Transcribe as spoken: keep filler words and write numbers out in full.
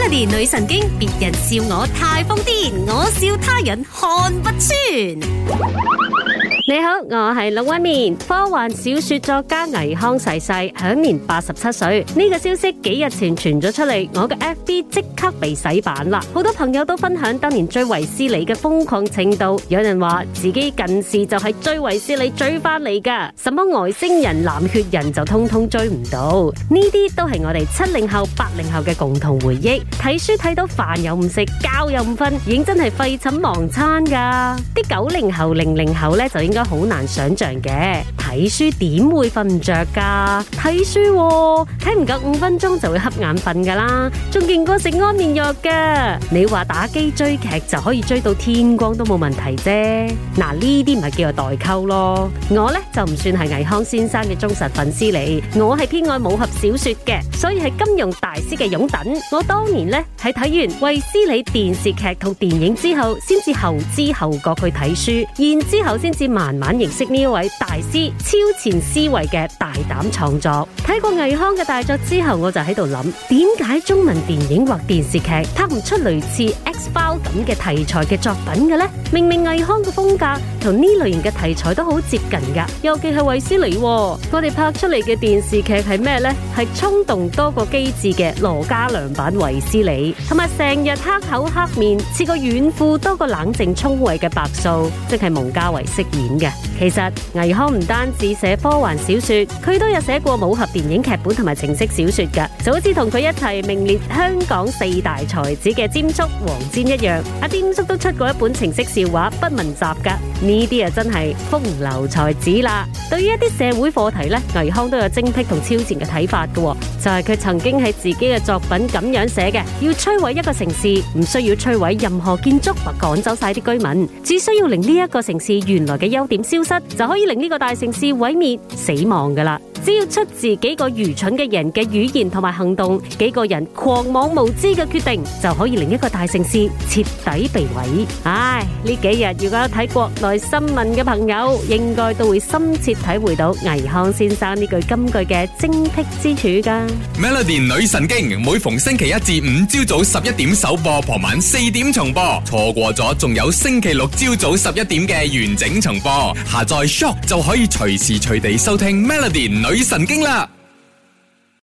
Melody 女神經，別人笑我太瘋癲，我笑他人看不穿。 你好，我係龍紋敏。科幻小說作家倪匡逝世，享年八十七歲。呢個消息幾日前傳咗出嚟，我嘅 F B 即刻被洗版啦。好多朋友都分享當年追衛斯理嘅瘋狂程度，有人話自己近視就係追衛斯理追翻嚟噶，什麼外星人、藍血人就通通追唔到。呢啲都係我哋七零後、八零後嘅共同回憶。睇書睇到飯又唔食，覺又唔瞓，已經真係廢寢忘餐噶。啲九零後、零零後咧就應該好難想象嘅，睇書點會瞓唔着噶？睇書睇唔夠五分鐘就會瞌眼瞓噶啦，仲勁過食安眠藥噶。你話打機追劇就可以追到天光都冇問題啫。嗱，呢啲咪叫做代溝咯。我呢就唔算係倪匡先生嘅忠實粉絲嚟，我係偏愛武俠小說嘅，所以係金庸大師嘅擁躉。我當年呢係睇完衛斯理電視劇同電影之後，先至後知後覺去睇書，然之後先至慢慢認識呢一位大師超前思維嘅大膽創作。睇過倪匡嘅大作之後，我就喺度諗，點解中文電影或電視劇拍唔出類似 X-Files 咁嘅題材嘅作品嘅呢？明明倪匡嘅風格同呢類型嘅題材都好接近噶，尤其係衛斯理，我哋拍出嚟嘅電視劇係咩呢？係衝動多過機智嘅羅嘉良版衛斯理，同埋成日黑口黑面，似個軟褲多過冷靜聰慧嘅白素，即係蒙嘉慧飾演嘅。其實倪匡唔單止寫科幻小說，佢都有寫過武俠電影劇本同埋情色小說噶，就好似同佢一齊名列香港四大才子嘅霑叔黃霑一樣。阿霑叔都出過一本情色笑話不文集噶，呢啲啊真係風流才子啦。對於一啲社會課題呢，倪匡都有精闢同超前嘅睇法噶，就係佢曾經喺自己嘅作品咁樣寫嘅：要摧毀一個城市，唔需要摧毀任何建築或趕走晒啲居民，只需要令呢一個城市原來嘅優點消失，就可以令呢個大城市毀滅死亡噶啦。只要出自幾個愚蠢嘅人嘅語言同埋行動，幾個人狂妄無知嘅決定，就可以令一個大城市徹底被毀。唉，呢幾日如果有睇國內新聞嘅朋友，應該都會深切體會到倪匡先生呢句金句嘅精闢之處噶。 Melody 女神經每逢星期一至五朝早十一點首播，傍晚四點重播，錯過咗仲有星期六朝早十一點嘅完整重播。下載 Shock 就可以隨時隨地收聽 Melody 女神經啦。